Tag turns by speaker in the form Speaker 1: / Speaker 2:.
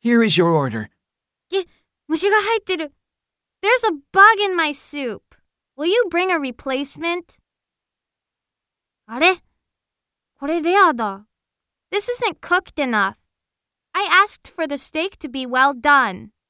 Speaker 1: Here is your order.
Speaker 2: 虫が入ってる。There's a bug in my soup. Will you bring a replacement? あれ？これレアだ。This isn't cooked enough. I asked for the steak to be well done.